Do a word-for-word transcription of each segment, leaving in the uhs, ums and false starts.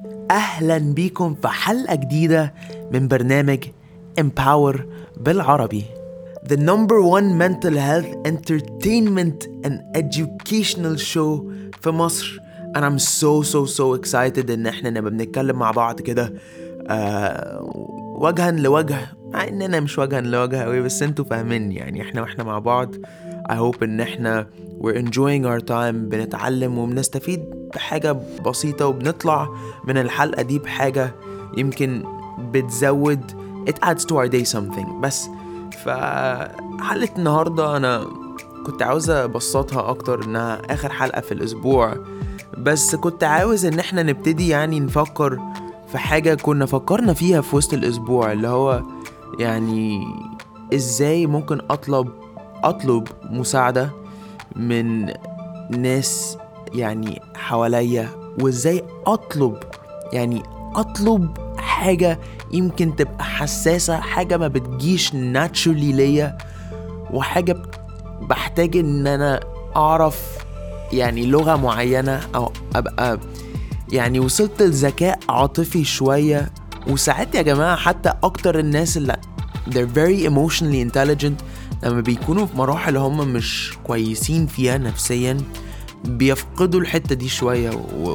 أهلا بيكم في حلقة جديدة من برنامج Empower بالعربي. The number one mental health entertainment and educational show في مصر. And I'm so so so excited إن احنا نبقى بنتكلم مع بعض كده آه وجها لوجه، مع إننا مش وجها لوجه قوي، بس انتوا فاهمين يعني احنا واحنا مع بعض. I hope إن احنا we're enjoying our time، بنتعلم وبنستفيد بحاجة بسيطة، وبنطلع من الحلقة دي بحاجة يمكن بتزود it adds to our day something. بس فحلقة النهاردة أنا كنت عاوز أبسطها أكتر إنها آخر حلقة في الأسبوع، بس كنت عاوز إن احنا نبتدي يعني نفكر في حاجة كنا فكرنا فيها في وسط الأسبوع، اللي هو يعني إزاي ممكن أطلب أطلب مساعدة من ناس يعني حواليا، وإزاي أطلب يعني أطلب حاجة يمكن تبقى حساسة، حاجة ما بتجيش naturally ليا، وحاجة بحتاج إن أنا أعرف يعني لغة معينة، أو أبقى يعني وصلت لذكاء عاطفي شوية. وساعات يا جماعة حتى أكتر الناس اللي they're very emotionally intelligent لما بيكونوا في مراحل هم مش كويسين فيها نفسيا بيفقدوا الحتة دي شوية.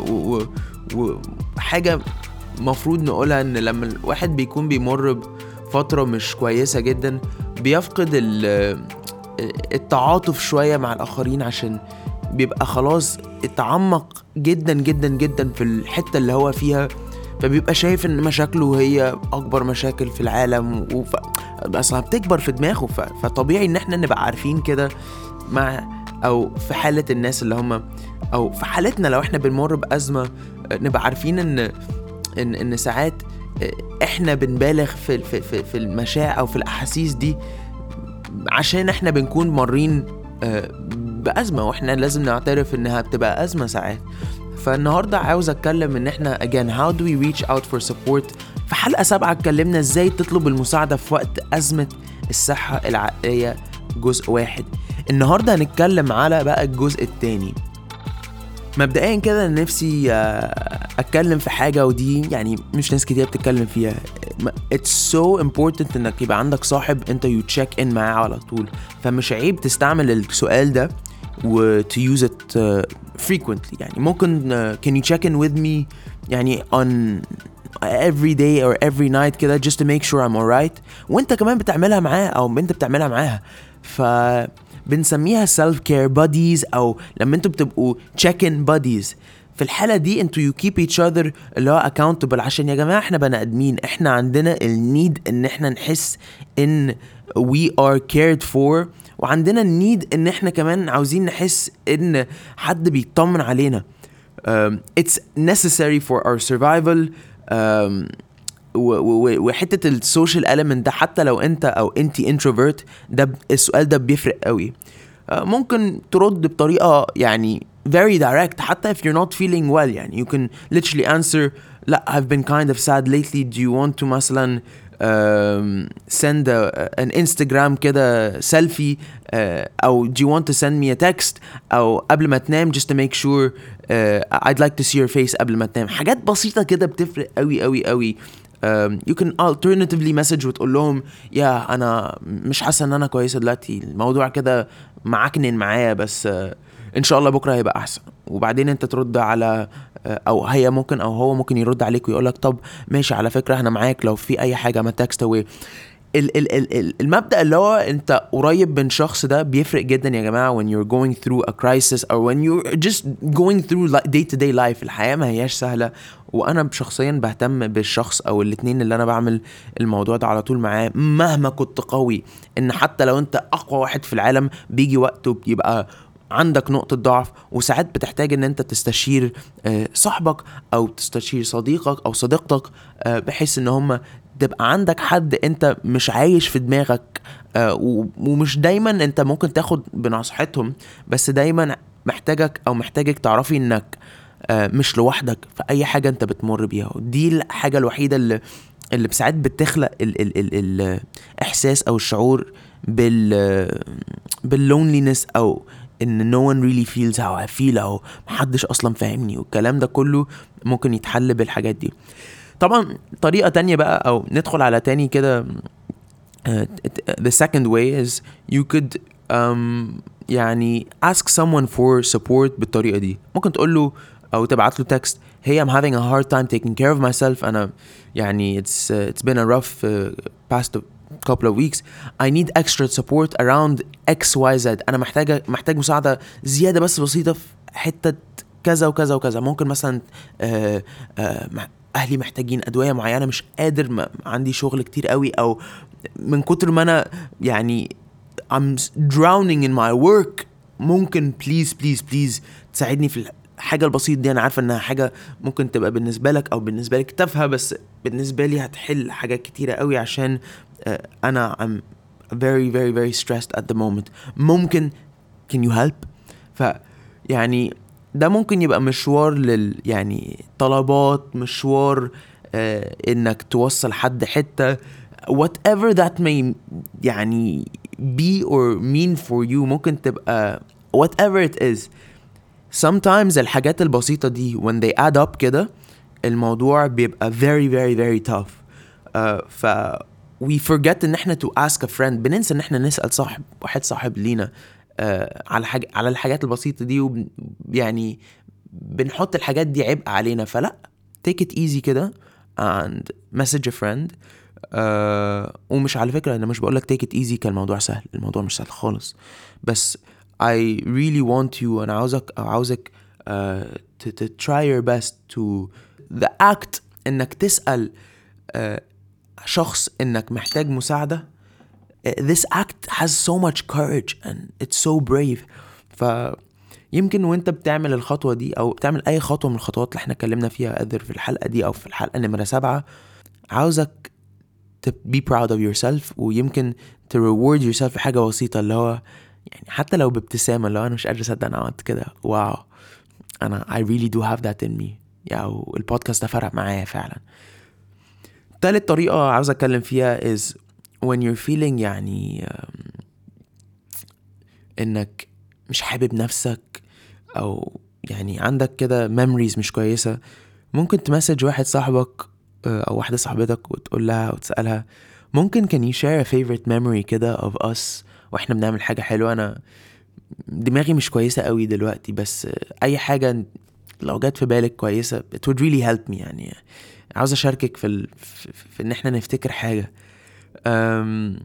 وحاجة مفروض نقولها ان لما الواحد بيكون بيمر بفترة مش كويسة جدا بيفقد التعاطف شوية مع الآخرين، عشان بيبقى خلاص اتعمق جدا جدا جدا في الحتة اللي هو فيها، فبيبقى شايف ان مشاكله هي اكبر مشاكل في العالم، وف... اصلا بتكبر في دماغه. ف... فطبيعي ان احنا نبقى عارفين كده مع او في حالة الناس اللي هم او في حالتنا لو احنا بنمر بأزمة، نبقى عارفين ان ان, إن ساعات احنا بنبالغ في في في, في المشاعر او في الاحاسيس دي، عشان احنا بنكون مرين بأزمة، واحنا لازم نعترف انها بتبقى أزمة ساعات. فالنهاردة عاوز اتكلم ان احنا again how do we reach out for support. في حلقة سبعة اتكلمنا ازاي تطلب المساعدة في وقت أزمة الصحة العقلية جزء واحد. النهاردة هنتكلم على بقى الجزء التاني. مبدئيا كده نفسي اتكلم في حاجة، ودي يعني مش ناس كتير بتتكلم فيها. it's so important انك يبقى عندك صاحب انت you check in معاه على طول، فمش عيب تستعمل السؤال ده و to use it uh, frequently. يعني ممكن uh, can you check in with me يعني on every day or every night كده just to make sure I'm alright، وانت كمان بتعملها معاه او انت بتعملها معاها. ف بنسميها self care buddies، او لما انتوا بتبقوا check in buddies. في الحالة دي انتوا you keep each other اللي هو accountable، عشان يا جماعة احنا بني ادمين، احنا عندنا النيد ان احنا نحس ان we are cared for، وعندنا النيد ان احنا كمان عاوزين نحس ان حد بيطمن علينا. um, it's necessary for our survival. um, وحتة السوشيال element ده حتى لو انت او انتي introvert، ده السؤال ده بيفرق قوي. uh, ممكن ترد بطريقة يعني very direct حتى if you're not feeling well. يعني you can literally answer لا I've been kind of sad lately, do you want to مثلا Um, send a, an Instagram كده selfie, uh, أو do you want to send me a text، أو قبل ما تنام just to make sure uh, I'd like to see your face قبل ما تنام. حاجات بسيطة كده بتفرق قوي قوي قوي. um, you can alternatively message وتقول لهم يا أنا مش حاسة إن أنا كويسة دلوقتي، الموضوع كده معكنن معايا، بس uh, إن شاء الله بكرة هيبقى أحسن. وبعدين أنت ترد على او هي ممكن او هو ممكن يرد عليك ويقولك طب ماشي على فكرة احنا معاك لو في اي حاجة ما تكست اوي. ال- ال- ال- المبدأ اللي هو انت قريب من شخص ده بيفرق جدا يا جماعة when you're going through a crisis or when you're just going through day to day life. الحياة ما هياش سهلة، وانا شخصيا بهتم بالشخص او الاتنين اللي انا بعمل الموضوع ده على طول معاه مهما كنت قوي. ان حتى لو انت اقوى واحد في العالم بيجي وقته بيبقى عندك نقطة ضعف، وساعات بتحتاج ان انت تستشير صاحبك او تستشير صديقك او صديقتك، بحيث ان هم تبقى عندك حد انت مش عايش في دماغك. ومش دايما انت ممكن تاخد بنصيحتهم، بس دايما محتاجك او محتاجك تعرفي انك مش لوحدك في اي حاجة انت بتمر بيها. ودي الحاجة الوحيدة اللي اللي بساعات بتخلق ال ال ال الاحساس او الشعور بال باللونلينس او ان no one really feels how I feel او محدش اصلا فاهمني، والكلام ده كله ممكن يتحل بالحاجات دي. طبعا طريقة تانية بقى او ندخل على تاني كده. Uh, the second way is you could um, يعني ask someone for support بالطريقة دي. ممكن تقول له أو تبعت له text hey I'm having a hard time taking care of myself أنا يعني it's uh, it's been a rough uh, past couple of weeks I need extra support around X Y Z أنا محتاجة محتاج مساعدة زيادة بس بسيطة في حتة كذا وكذا وكذا. ممكن مثلا آه آه أهلي محتاجين أدوية معينة مش قادر ما عندي شغل كتير قوي أو من كتر ما أنا يعني I'm drowning in my work ممكن please please please تساعدني في الحاجة البسيطة دي. أنا عارفة إنها حاجة ممكن تبقى بالنسبة لك أو بالنسبة لك تافهة بس بالنسبة لي هتحل حاجات كتيرة قوي عشان أنا I'm very very very stressed at the moment. ممكن can you help؟ ف يعني ده ممكن يبقى مشوار لل يعني طلبات مشوار آه إنك توصل حد حتة whatever that may يعني be or mean for you. ممكن تبقى whatever it is. sometimes الحاجات البسيطة دي when they add up كده الموضوع بيبقى very very very tough. uh, ف we forget ان احنا to ask a friend. بننسى ان احنا نسأل صاحب واحد صاحب لينا uh, على حاجة على الحاجات البسيطة دي وب... يعني بنحط الحاجات دي عبء علينا. فلا take it easy كده and message a friend. Uh, ومش على فكرة أنا مش بقولك take it easy كالموضوع سهل. الموضوع مش سهل خالص بس I really want you أنا عاوزك أو عاوزك uh, to, to try your best to the act إنك تسأل uh, شخص إنك محتاج مساعدة. uh, this act has so much courage and it's so brave. فيمكن وانت بتعمل الخطوة دي أو بتعمل أي خطوة من الخطوات اللي احنا اتكلمنا فيها قدر في الحلقة دي أو في الحلقة نمرة سبعة عاوزك to be proud of yourself ويمكن to reward yourself في حاجة بسيطة اللي هو يعني حتى لو بابتسامة اللي هو أنا مش قادر أصدق أنا عملت كده واو أنا I really do have that in me يعني البودكاست ده فرق معايا فعلا. تالت طريقة عاوز أتكلم فيها is when you're feeling يعني إنك مش حابب نفسك أو يعني عندك كده memories مش كويسة. ممكن تمسج واحد صاحبك أو واحدة صاحبتك وتقول لها وتسألها ممكن can you share a favorite memory كده of us وإحنا بنعمل حاجة حلوة. أنا دماغي مش كويسة قوي دلوقتي بس أي حاجة لو جات في بالك كويسة it would really help me يعني عاوز أشاركك في, ال... في... في إن إحنا نفتكر حاجة. أم...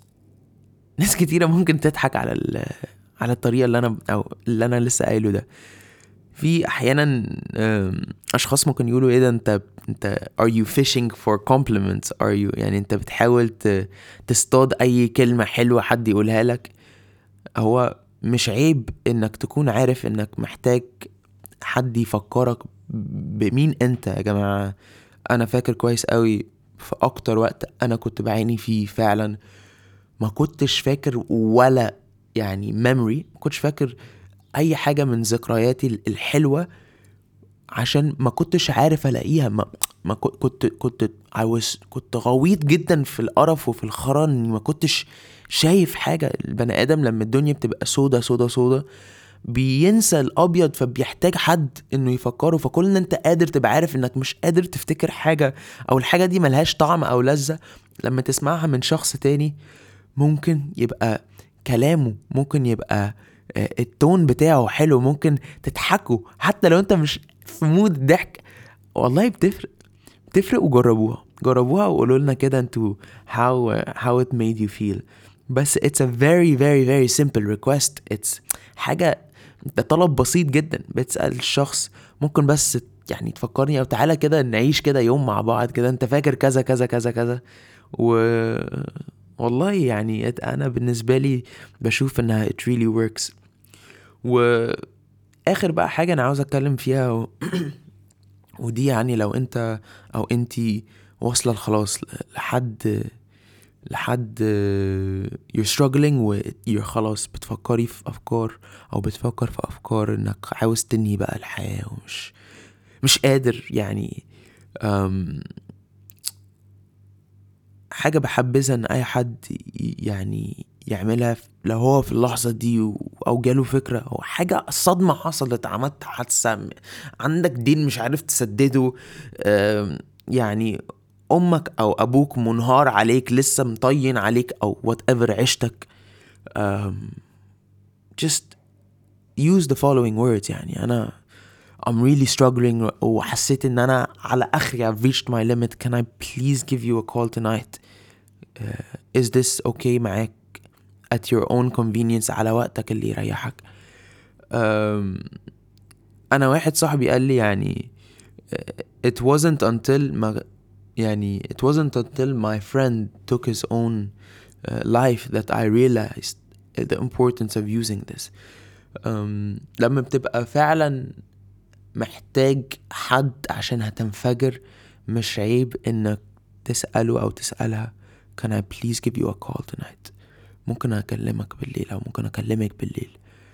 ناس كتيرة ممكن تضحك على ال... على الطريقة اللي أنا أو اللي أنا لسه قايله ده. في احيانا اشخاص ممكن يقولوا ايه ده انت انت are you fishing for compliments are you يعني انت بتحاول تصطاد اي كلمة حلوة حد يقولها لك. هو مش عيب انك تكون عارف انك محتاج حد يفكرك بمين انت يا جماعة. انا فاكر كويس قوي في اكتر وقت انا كنت بعاني فيه فعلا ما كنتش فاكر ولا يعني memory ما كنتش فاكر اي حاجة من ذكرياتي الحلوة عشان ما كنتش عارف الاقيها. ما, ما كنت كنت I was كنت غويط جدا في القرف وفي الخرن ما كنتش شايف حاجة. البني ادم لما الدنيا بتبقى سودة سودة سودة بينسى الابيض فبيحتاج حد انه يفكره. فكل ان انت قادر تبقى عارف انك مش قادر تفتكر حاجة او الحاجة دي ملهاش طعم او لذة لما تسمعها من شخص تاني ممكن يبقى كلامه ممكن يبقى التون بتاعه حلو ممكن تضحكوا حتى لو انت مش في مود ضحك. والله بتفرق بتفرق وجربوها جربوها وقولوا لنا كده انتوا how how it made you feel. بس it's a very very very simple request. it's حاجة ده طلب بسيط جدا بتسأل الشخص ممكن بس يعني تفكرني او تعالى كده نعيش كده يوم مع بعض كده انت فاكر كذا كذا كذا كذا. و والله يعني انا بالنسبة لي بشوف انها it really works. واخر بقى حاجة انا عاوز اتكلم فيها و... ودي يعني لو انت او انتي واصلة خلاص لحد لحد you're struggling و you're خلاص بتفكري في افكار او بتفكر في افكار انك عاوز تنهي بقى الحياة ومش مش قادر يعني أم... حاجة بحبذها ان اي حد يعني يعملها لو هو في اللحظة دي و- أو جاله فكرة أو حاجة صدمة حصلت، عملت حادثة، م- عندك دين مش عارف تسدده، آم، يعني أمك أو أبوك منهار عليك، لسه مطين عليك أو whatever عيشتك، آم، just use the following words. يعني أنا I'm really struggling وحسيت إن أنا على آخري I've reached my limit. Can I please give you a call tonight? uh, is this okay معاك at your own convenience على وقتك اللي يريحك. أم، انا واحد صاحبي قال لي يعني uh, it wasn't until ما يعني it wasn't until my friend took his own uh, life that I realized the importance of using this. أم، لما بتبقى فعلا محتاج حد عشان هتنفجر، مش عيب انك تسأله او تسألها can I please give you a call tonight؟ ممكن اكلمك بالليل او ممكن اكلمك بالليل.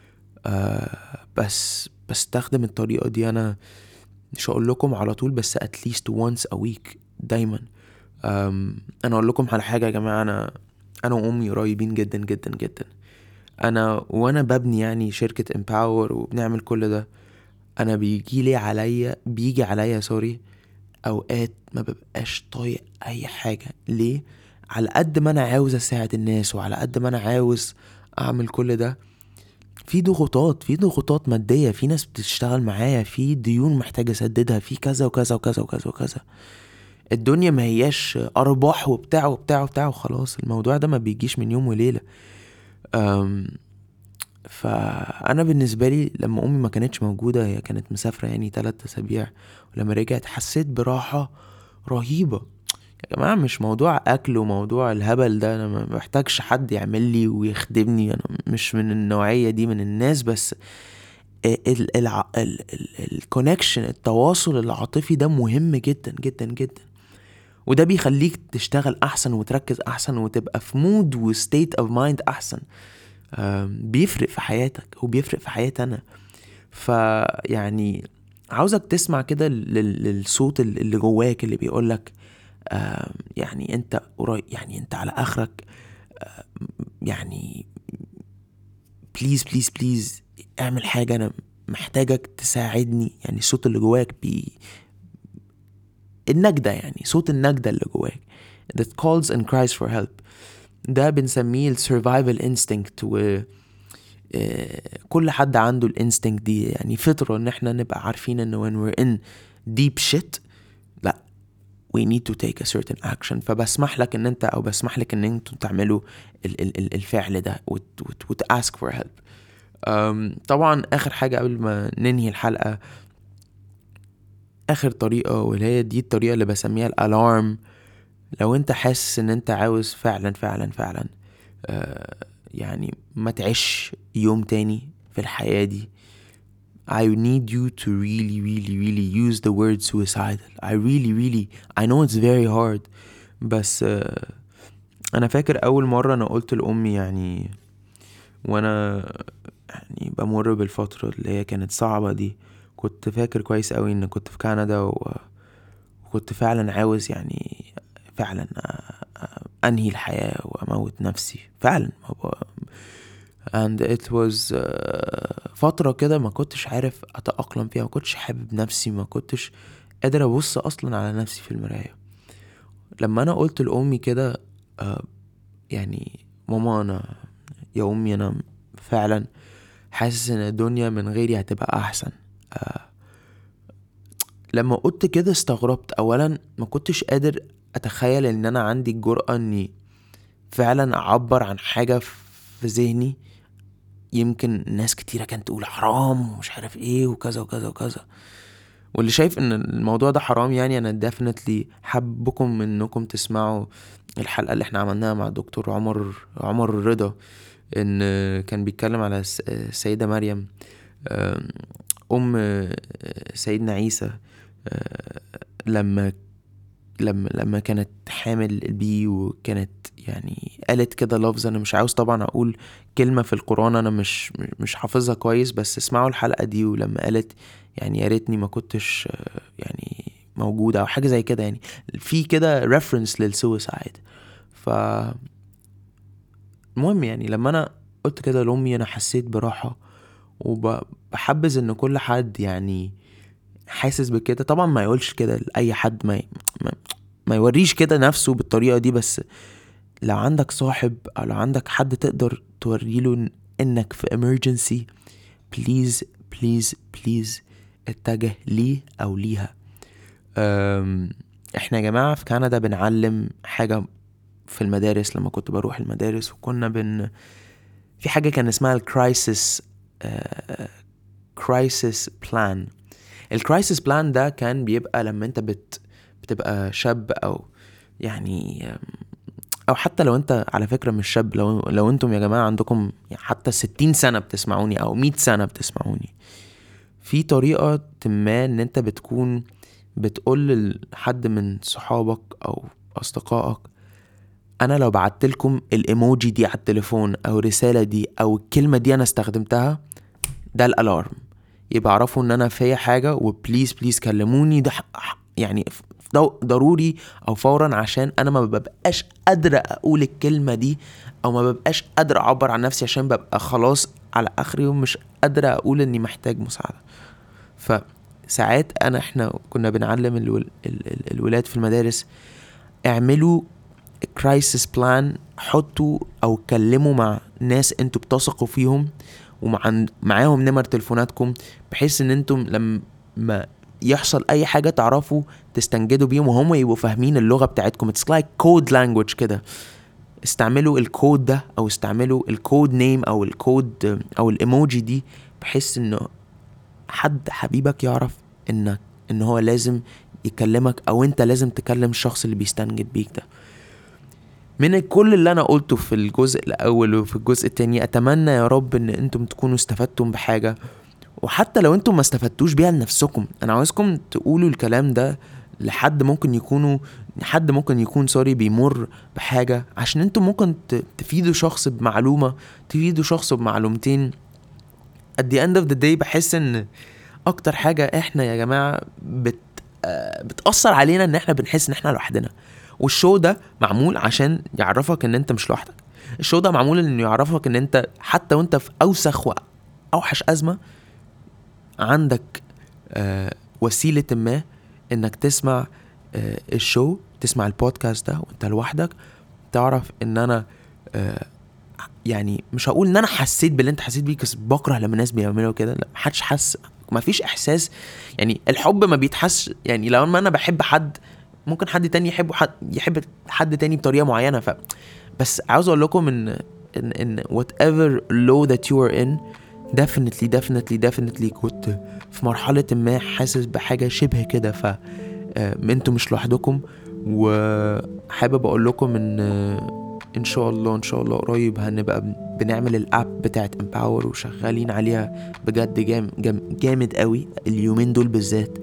آه بس بستخدم الطريقة دي انا، مش هقول لكم على طول بس at least once a week دايما. آم، انا اقول لكم على حاجة يا جماعة، انا انا وامي قريبين جدا جدا جدا. انا وانا ببني يعني شركة امباور وبنعمل كل ده، انا بيجي لي عليا بيجي عليا سوري اوقات ما ببقاش طايق اي حاجة. ليه؟ على قد ما انا عاوز اساعد الناس وعلى قد ما انا عاوز اعمل كل ده، في ضغوطات في ضغوطات مادية، في ناس بتشتغل معايا، في ديون محتاجة اسددها، في كذا وكذا وكذا وكذا وكذا. الدنيا ما هياش ارباح وبتاع وبتاع وبتاع وخلاص، الموضوع ده ما بيجيش من يوم وليلة. أم فانا بالنسبة لي لما امي ما كانتش موجودة، هي كانت مسافرة يعني تلات اسابيع، ولما رجعت حسيت براحة رهيبة. يا جماعة مش موضوع اكل وموضوع الهبل ده، انا ما محتاجش حد يعمل لي ويخدمني، انا مش من النوعية دي من الناس. بس ال ال ال الكونكشن التواصل العاطفي ده مهم جدا جدا جدا، وده بيخليك تشتغل احسن وتركز احسن وتبقى في مود وستيت اوف مايند احسن. آم، بيفرق في حياتك وبيفرق في حياتي انا. فيعني عاوزك تسمع كده لل- للصوت اللي جواك اللي بيقولك آم، يعني انت قريب، يعني انت على اخرك، يعني بليز بليز بليز اعمل حاجة، انا محتاجك تساعدني. يعني الصوت اللي جواك بي النجدة، يعني صوت النجدة اللي جواك that calls and cries for help. ده بنسميه ال survival instinct، و آه، كل حد عنده الانستنكت دي، يعني فطرة ان احنا نبقى عارفين ان when we're in deep shit لا we need to take a certain action. فبسمح لك ان انت او بسمح لك ان انتوا تعملوا ال- ال- ال- الفعل ده وت, وت, وت ask for help. أم، طبعا اخر حاجة قبل ما ننهي الحلقة، اخر طريقة واللي هي دي الطريقة اللي بسميها الالارم. لو انت حاسس ان انت عاوز فعلا فعلا فعلا آه يعني ما تعيش يوم تاني في الحياة دي، I need you to really really really use the word suicidal. I really really I know it's very hard، بس آه انا فاكر اول مرة انا قلت لأمي يعني وانا يعني بمر بالفترة اللي هي كانت صعبة دي، كنت فاكر كويس قوي ان كنت في كندا و... وكنت فعلا عاوز يعني فعلا أ- أ- انهي الحياة واموت نفسي فعلا. and it was uh, فترة كده ما كنتش عارف اتأقلم فيها، ما كنتش حابب نفسي، ما كنتش قادر ابص اصلا على نفسي في المراية. لما انا قلت لامي كده آه، يعني ماما انا يا امي انا فعلا حاسس ان الدنيا من غيري هتبقى احسن. آه، لما قلت كده استغربت. اولا ما كنتش قادر اتخيل ان انا عندي الجرأة اني فعلا اعبر عن حاجة في ذهني. يمكن ناس كتيرة كانت تقول حرام ومش عارف ايه وكذا وكذا وكذا، واللي شايف ان الموضوع ده حرام يعني انا definitely حابكم انكم تسمعوا الحلقة اللي احنا عملناها مع دكتور عمر عمر الرضا، ان كان بيتكلم على الس- السيدة مريم آم، ام سيدنا عيسى، آه، لما لما لما كانت حامل بيه، وكانت يعني قالت كده لفظ انا مش عاوز طبعا اقول كلمة في القرآن انا مش مش حافظها كويس، بس اسمعوا الحلقة دي. ولما قالت يعني يا ريتني ما كنتش آه، يعني موجودة او حاجة زي كده، يعني في كده reference للسويسايد. ف المهم يعني لما انا قلت كده لأمي أنا حسيت براحة، وبحبذ ان كل حد يعني حاسس بكده. طبعا ما يقولش كده لأي حد، ما, ما, ما يوريش كده نفسه بالطريقة دي، بس لو عندك صاحب او لو عندك حد تقدر توريله انك في emergency، بليز بليز بليز اتجه ليه او ليها. أم، احنا يا جماعة في كندا بنعلم حاجة في المدارس. لما كنت بروح المدارس وكنا بن في حاجة كان اسمها الكرايسيس كرايسيس بلان. الكرايسيس بلان ده كان بيبقى لما انت بت بتبقى شاب، او يعني او حتى لو انت على فكرة مش شاب، لو لو انتم يا جماعة عندكم حتى ستين سنة بتسمعوني او مية سنة بتسمعوني، في طريقة ما ان انت بتكون بتقول لحد من صحابك او اصدقائك انا لو بعتلكم الايموجي دي على التليفون او الرسالة دي او الكلمة دي انا استخدمتها، ده الالارم، يبقى عرفوا ان انا فيا حاجة وبليز بليز كلموني. ده يعني ضروري او فورا، عشان انا ما ببقاش قادرة اقول الكلمة دي او ما ببقاش قادرة اعبر عن نفسي، عشان ببقى خلاص على اخر يوم مش قادرة اقول اني محتاج مساعدة. فساعات انا احنا كنا بنعلم الول... ال... ال... الولاد في المدارس اعملوا كرايسيس بلان، حطوا او كلموا مع ناس انتوا بتثقوا فيهم ومع معاهم نمر تليفوناتكم، بحيث ان انتم لما يحصل اي حاجة تعرفوا تستنجدوا بيهم وهم يبقوا فاهمين اللغة بتاعتكم. it's like code language كده. استعملوا الكود ده او استعملوا الكود نيم او الكود او الايموجي دي، بحيث انه حد حبيبك يعرف انك ان هو لازم يكلمك او انت لازم تكلم الشخص اللي بيستنجد بيك ده. من كل اللي انا قلته في الجزء الاول وفي الجزء التاني، اتمنى يا رب ان انتم تكونوا استفدتم بحاجة، وحتى لو انتم ما استفدتوش بيها لنفسكم، انا عاوزكم تقولوا الكلام ده لحد ممكن يكونوا حد ممكن يكون سوري بيمر بحاجة، عشان انتم ممكن تفيدوا شخص بمعلومة، تفيدوا شخص بمعلومتين. at the end of the day بحس ان اكتر حاجة احنا يا جماعة بت بتأثر علينا ان احنا بنحس ان احنا لوحدنا. والشو ده معمول عشان يعرفك ان انت مش لوحدك. الشو ده معمول انه يعرفك ان انت حتى وانت في اوسخ واوحش ازمة عندك آه وسيلة ما انك تسمع آه الشو، تسمع البودكاست ده وانت لوحدك. تعرف ان انا آه يعني مش هقول ان انا حسيت باللي انت حسيت بيه، بس بكره لما الناس بيعملوا كده. لا، محدش حس، ما فيش احساس. يعني الحب ما بيتحس، يعني لو انا بحب حد ممكن حد تاني يحبه، حد يحب حد تاني بطريقة معينة. ف بس عاوز اقول لكم ان ان ان whatever low that you are in definitely definitely definitely كنت في مرحلة ما حاسس بحاجة شبه كده. ف انتوا مش لوحدكم، وحابب اقول لكم ان ان شاء الله ان شاء الله قريب هنبقى بنعمل الاب بتاعت امباور وشغالين عليها بجد جام جام جامد قوي اليومين دول بالذات.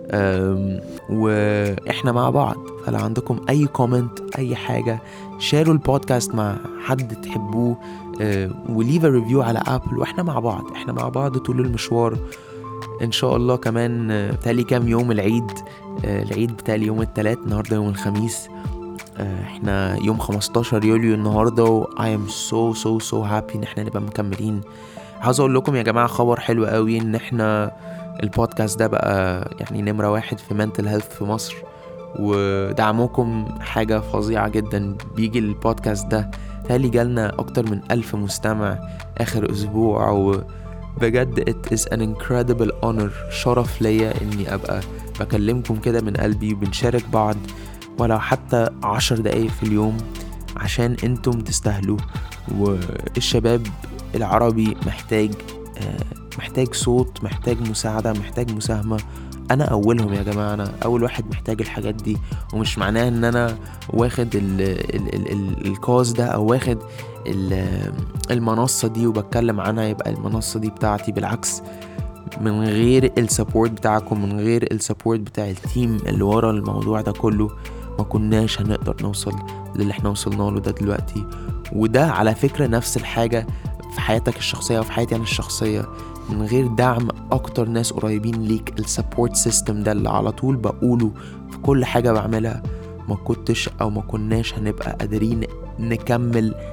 واحنا مع بعض. فلو عندكم اي كومنت اي حاجة، شاروا البودكاست مع حد تحبوه وليف ريفيو على ابل، واحنا مع بعض احنا مع بعض طول المشوار ان شاء الله. كمان بتالي كام يوم العيد، العيد بتالي يوم الثلاث، النهاردة يوم الخميس، احنا يوم خمستاشر يوليو النهاردة، و I am so so so happy ان احنا نبقى مكملين. عاوز اقول لكم يا جماعة خبر حلو قوي، ان احنا البودكاست ده بقى يعني نمرة واحد في mental health في مصر، ودعموكم حاجة فظيعة جدا. بيجي البودكاست ده تالي جالنا اكتر من الف مستمع اخر اسبوع، وبجد it is an incredible honor، شرف ليا اني ابقى بكلمكم كده من قلبي وبنشارك بعض ولو حتى عشر دقايق في اليوم، عشان انتم تستاهلوا. والشباب العربي محتاج محتاج صوت، محتاج مساعدة، محتاج مساهمة. انا اولهم يا جماعة، انا اول واحد محتاج الحاجات دي. ومش معناه ان انا واخد ال ال ال ال الكاز ده او واخد المنصة دي وبتكلم عنها يبقى المنصة دي بتاعتي. بالعكس، من غير السبورت بتاعكم، من غير السبورت بتاع التيم اللي ورا الموضوع ده كله، ما كناش هنقدر نوصل للي احنا وصلنا له ده دلوقتي. وده على فكرة نفس الحاجة في حياتك الشخصية وفي حياتي انا الشخصية. من غير دعم اكتر ناس قريبين ليك، السبورت سيستم ده اللي على طول بقوله في كل حاجة بعملها، ما كنتش او ما كناش هنبقى قادرين نكمل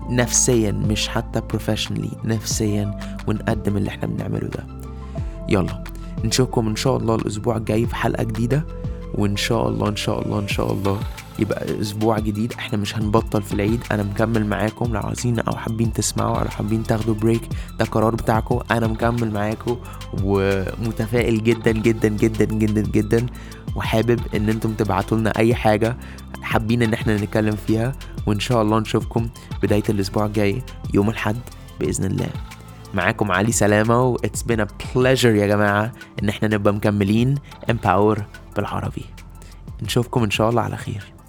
نفسيا مش حتى professionally، نفسيا، ونقدم اللي احنا بنعمله ده. يلا نشوفكم ان شاء الله الاسبوع الجاي في حلقة جديدة، وان شاء الله ان شاء الله ان شاء الله يبقى اسبوع جديد. احنا مش هنبطل في العيد، انا مكمل معاكم. لو عايزين او حابين تسمعوا او حابين تاخدوا بريك، ده قرار بتاعكم، انا مكمل معاكم ومتفائل جدا جدا جدا جدا جدا، وحابب ان انتم تبعتوا لنا اي حاجة حابين ان احنا نتكلم فيها. وان شاء الله نشوفكم بداية الاسبوع الجاي يوم الحد باذن الله. معاكم علي سلامة، و it's been a pleasure يا جماعة ان احنا نبقى مكملين Empower بالعربي. نشوفكم ان شاء الله على خير.